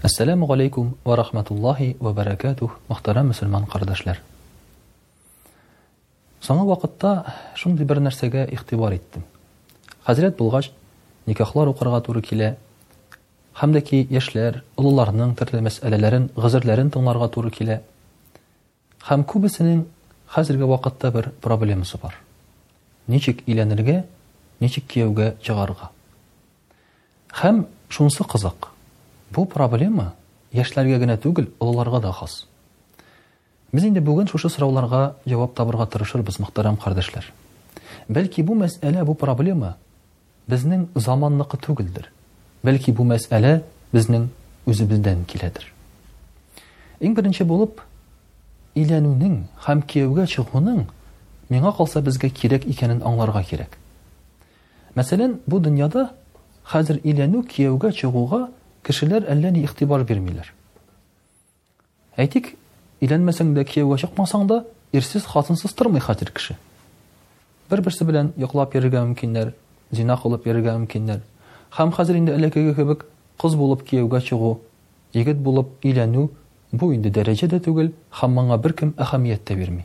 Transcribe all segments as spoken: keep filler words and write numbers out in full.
Ассаламу алейкум ва рахматуллахи ва баракатух, мөхтәрәм мөселман кардәшләр. Соңгы вакытта шундый бер нәрсәгә игътибар иттем. Хәзрәт булгач, никахлар укырга туры килә, һәм дә ки яшьләр, улларның төрле мәсьәләләрен, гызерләрен тыңларга туры килә. Һәм күбесенең хәзерге вакытта бер проблемасы бар. Ничек өйләнергә, ничек кияүгә чыгарга. Һәм шунысы кызык. Бу проблема яшьләргә генә түгел, улларга да хас. Без инде бүген шушы сорауларга җавап табырга тырышырбыз, мөхтәрәм кардәшләр. Бәлки бу мәсьәлә, бу проблема безнең заманныкы түгелдер. Бәлки бу мәсьәлә безнең үзебездән киләдер. Иң беренче булып, өйләнүнең һәм кияүгә чыгуның миңа калса безгә кирәк икәнен аңларга кирәк. Мәсәлән, бу дөньяда хәзер өйләнү, кияүгә чыгуга кешеләр әллә ни игътибар бирмиләр. Әйтик, өйләнмәсәң дә, кияүгә чыкмасаң да, ирсез, хатынсыз тормый хәзер кеше. Бер-берсе белән йоклап йөрергә мөмкиннәр, зина кылып йөрергә мөмкиннәр. Һәм хәзер инде элеккеге кебек кыз булып кияүгә чыгу, егет булып өйләнү бу инде дәрәҗәдә түгел, һәм моңа беркем әһәмият тә бирми.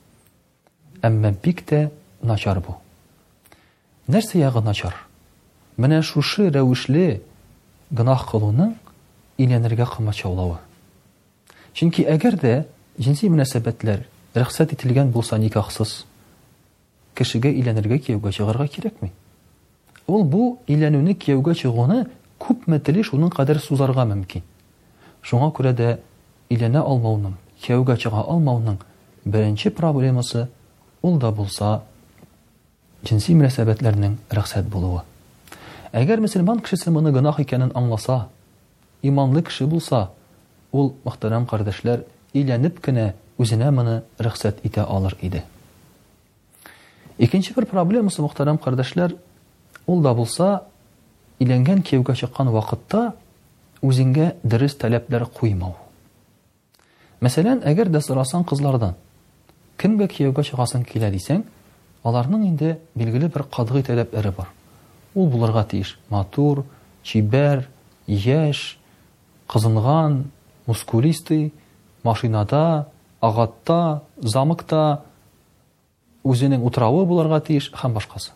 Әмма бик тә начар бу. Нәрсә ягы начар? Менә шушы рәвешле гынах кылуның өйләнергә кымачаулавы. Чөнки әгәр дә җинси мөнәсәбәтләр рөхсәт ителгән булса никахсыз, кешегә өйләнергә, кияүгә чыгарга кирәкми. Ул бу өйләнүне, кияүгә чыгуны күпме теле шуның кадәр сузарга мөмкин. Шуңа күрә дә өйләнә алмауның, кияүгә чыга алмауның беренче проблемасы ул да булса җинси мөнәсәбәтләрнең рөхсәт булуы. Әгәр мөселман кешесе моны гынах икәнен аңласа, иманлы кеше булса, ул, мөхтәрәм кардәшләр, өйләнеп кенә үзенә моны рөхсәт итә алыр иде. Икенче бер проблемасы, мөхтәрәм кардәшләр, ул да булса, өйләнгән, кияүгә чыккан вакытта үзеңгә дөрес таләпләр куймау. Мәсәлән, әгәр дә сорасаң кызлардан, кемгә кияүгә чыгасың килә дисәң, аларның инде билгеле бер катгый таләпләре бар. Ул булырга тиеш матур, чибәр, яшь, кызынган, мускулистый, машинада, агатта, замыкта, үзенең утравы булырга тиеш һәм башкасы.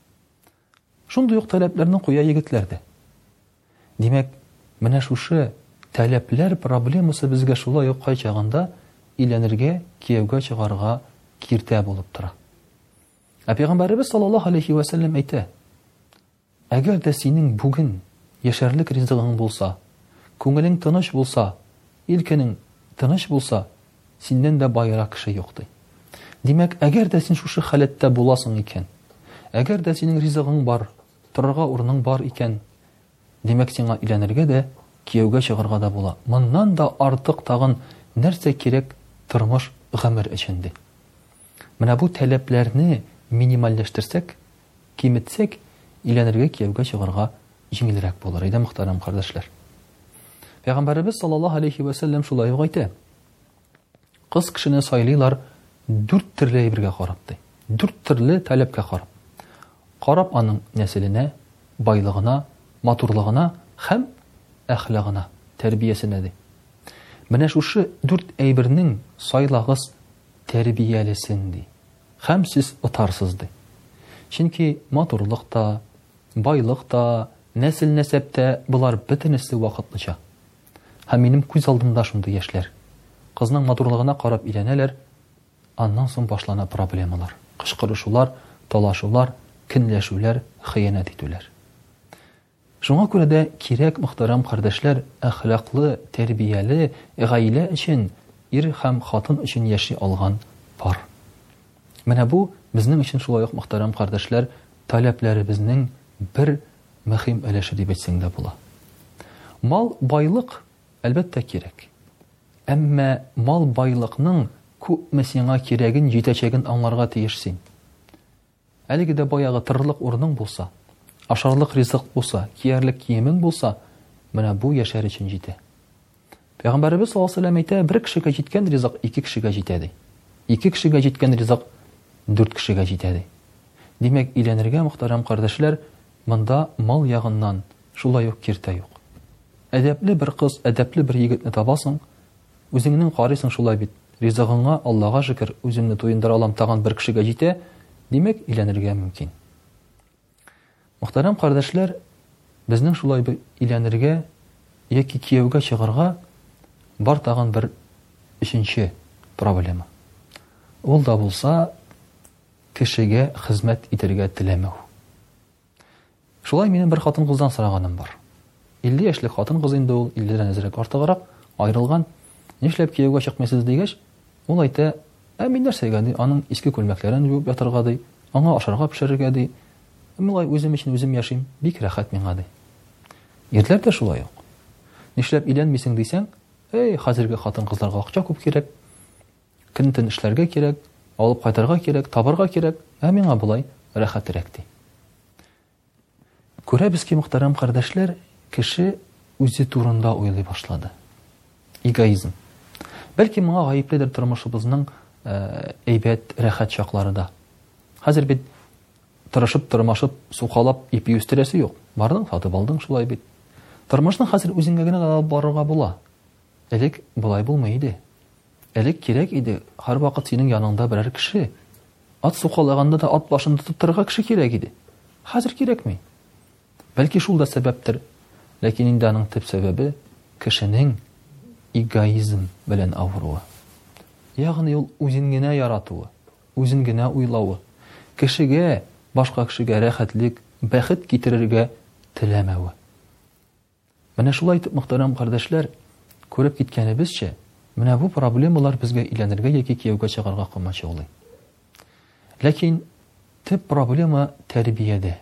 Шундый ук таләпләрне куя егетләр дә. Димәк, менә шушы таләпләр проблемасы безгә шулай ук кай чагында өйләнергә, кияүгә чыгарга киртә булып тора. Ә Пәйгамбәрбез саллаллаһу алейхи ва саллям әйтә: әгәр дә синең бүген яшәрлек ризыгың булса, күңелең тыныч булса, илкенең тыныч булса, синнән дә байрак кеше юк ди. Димәк, әгәр дә син шушы халәттә буласың икән, әгәр дә синең ризыгың бар, торырга урының бар икән, димәк, сиңа өйләнергә дә, кияүгә чыгарга да була. Моннан да артык тагын нәрсә кирәк тормыш, гомер өчен ди. Менә бу таләпләрне минимальләштерсәк, киметсәк, өйләнергә, кияүгә чыгарга җиңелрәк булыр иде, мөхтәрәм кардәшләр. Пәйгамбәрбез саллаллаһу алейхи ва саллям шулай ук әйтә: кыз кешене сайлыйлар дүрт төрле әйбергә карап ди. Дүрт төрле таләпкә карап. Карап аның нәселенә, байлыгына, матурлыгына һәм әхлагына, тәрбиясенә ди. Менә шушы дүрт әйбернең сайлагыз тәрбиялесен ди. Һәм сез утарсыз ди. Чөнки матурлыкта, байлыкта, нәсел-нәсәптә булар бөтенесе вакытлыча. Һәм минем күз алдымда шундый яшьләр. Кызның матурлыгына карап өйләнәләр, аннан соң башлана проблемалар. Кычкырышулар, талашулар, көнләшүләр, хыянат итүләр. Шуңа күрә дә кирәк, мөхтәрәм кардәшләр, әхлаклы, тәрбияле гаилә өчен, ир һәм хатын өчен яши алган пар. Менә бу безнең өчен шулай ук, мөхтәрәм кардәшләр, таләпләребезнең бер мөһим өлеше дип әйтсәң дә була. Мал, байлык әлбәттә кирәк. Әмма мал, байлыкның күпме сиңа кирәген, җитәчәген аңларга тиеш син. Әлеге дә баягы тырлык урының булса, ашарлык ризык булса, киярлек киемең булса, менә бу яшәр өчен җитә. Пәйгамбәрбез саллаллаһу алейхи ва саллям әйтә: бер кешегә җиткән ризык ике кешегә җитә ди. Ике кешегә җиткән ризык дүрт кешегә җитә ди. Димәк, өйләнергә, мөхтәрәм кардәшләр, монда мал ягыннан шулай ук киртә юк. әдәпле бер кыз, әдәпле бер егетне табасың, үзеңнең карыйсың шулай бит. Ризыгыңа Аллага шөкер, үземне туендыра алам тагын бер кешегә җитә, димәк, өйләнергә мөмкин. Мөхтәрәм кардәшләр, безнең шулай бер өйләнергә яки кияүгә чыгарга бар тагын бер өченче проблема. Ул да булса, кешегә хезмәт итәргә теләмәү. Шулай минем бер хатын-кыздан сораганым бар. илле яшьлек хатын-кыз инде ул, илледән әзрәк артыграк, аерылган. Нишләп кияүгә чыкмыйсыз дигәч, ул әйтә: "Ә мин нәрсәгә ди, аның иске күлмәкләрен юып ятырга ди, аңа ашарга пешерергә ди. Милай үзем өчен үзем яшим, бик рәхәт миңа ди." Ирләр дә шулай ук. Нишләп өйләнмисең дисәң, "Эй, хәзерге хатын-кызларга акча күп кирәк, көн-төн эшләргә кирәк, алып кайтарга кирәк, табарга кирәк, ә миңа булай рәхәтрәк ди." Күрәбез ки, мөхтәрәм кардәшләр, кеше үзе турында уйлый башлады. Эгоизм. Бәлки моңа гаепледер тормышыбызның әйбәт, рәхәт чаклары да. Хәзер бит тырышып, тырмашып, сукалап, ипи үстерәсе юк. Бардың, сатып алдың шулай бит. Тормышның хәзер үзеңгә генә алып барырга була. Элек булай булмый иде. Элек кирәк иде, һәр вакыт синең яныңда берәр кеше. Ат сукалаганда да ат башын тотып торырга кеше кирәк иде. Хәзер кирәкми. Бәлки шул да сәбәптер. Ләкин инде аның төп сәбәбе кешенең эгоизм белән авыруы. Ягъни ул үзен генә яратуы, үзен генә уйлавы, кешегә, башка кешегә рәхәтлек, бәхет китерергә теләмәве. Менә шулай итеп, мөхтәрәм кардәшләр, күреп киткәнебезчә, менә бу проблемалар безгә өйләнергә яки кияүгә чыгарга кылмачылый. Ләкин төп проблема тәрбиядә.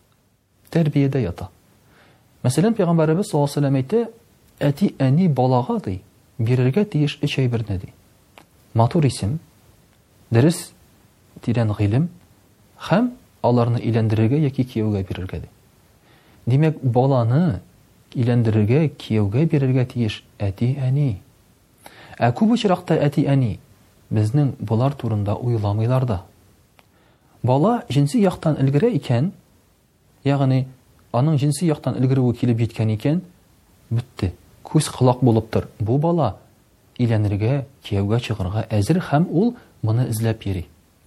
Тәрбиядә ята. Мәсәлән, Пәйгамбәрбез саллаллаһу алейһи ва сәллям әйтә: "Әти әни балага ди, бирергә тиеш өч әйберне ди. Матур исем, дөрес, тирән гыйлем һәм аларны өйләндерергә яки кияүгә бирергә ди." Димәк, баланы өйләндерергә, кияүгә бирергә тиеш әти әни. Ә күп очракта әти әни безнең булар турында уйламыйлар да. Бала җинси яктан өлгерә икән, ягъни аның җинси яктан өлгерүе килеп җиткән икән, битте. Күз кылак булып тор. Бу бала өйләнергә, кияүгә чыгарга әзер һәм ул моны эзләп йөри.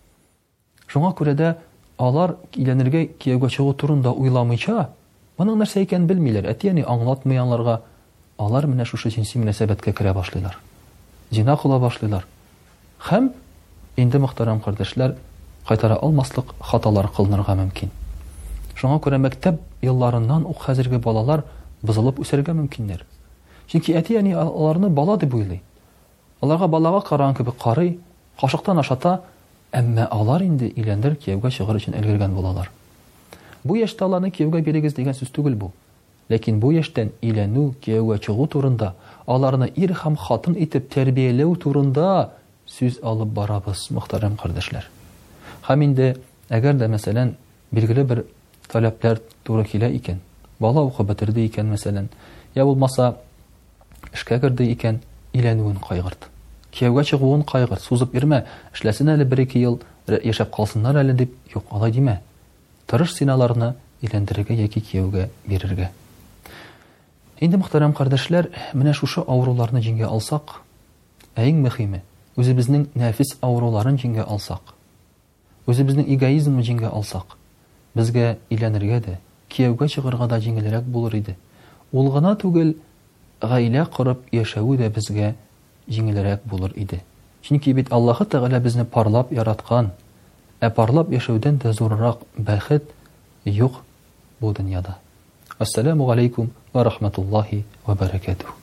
Шуңа күрә дә алар өйләнергә, кияүгә чыгу турында уйламыйча, моның нәрсә икәнен белмиләр. Әти әни аңлатмый аларга, алар менә шушы җинси мөнәсәбәткә керә башлыйлар. Зина кыла башлыйлар. Һәм инде, мөхтәрәм кардәшләр, кайтара алмаслык хаталар кылынырга мөмкин. Шуңа күрә мәктәп елларыннан ук хәзерге балалар бузылып үсәргә мөмкиннәр. Чөнки әти әни аларны бала дип уйлый. Аларга балага караган кебек карый, кашыктан ашата, әмма алар инде өйләндер, кияүгә чыгыр өчен өлгергән булалар. Бу яшьтә аларны кияүгә бирегез дигән сүз түгел бу. Ләкин бу яшьтән өйләнү, кияүгә чыгу турында, аларны ир һәм хатын итеп тәрбияләү турында сүз алып барабыз, мөхтәрәм кардәшләр. Һәм инде әгәр дә мәсәлән билгеле бер таләпләр туры килә икән, бала укып бетерде икән мәсәлән, я булмаса эшкә керде икән, өйләнүен кайгырт. Кияүгә чыгуын кайгырт, сузып йөрмә, эшләсен әле бер-ике ел, яшәп калсыннар әле дип, юк, алай димә. Тырыш синаларны өйләндерергә яки кияүгә бирергә. Инде, мөхтәрәм кардәшләр, менә шушы авыруларны җиңгә алсак, иң мөһиме, үзебезнең нәфис авыруларын җиңгә алсак, үзебезнең эгоизмны җиңгә алсак, безгә өйләнергә дә, кияүгә чыгарга да җиңелрәк булыр иде. Ул гына түгел, гаилә корып яшәү дә безгә җиңелрәк булыр иде. Чөнки бит Аллаһ Тәгалә безне парлап яраткан, ә парлап яшәүдән дә зуррак бәхет юк бу дөньяда. Ассаламу алейкум ва рахматуллаһи ва баракатуһ.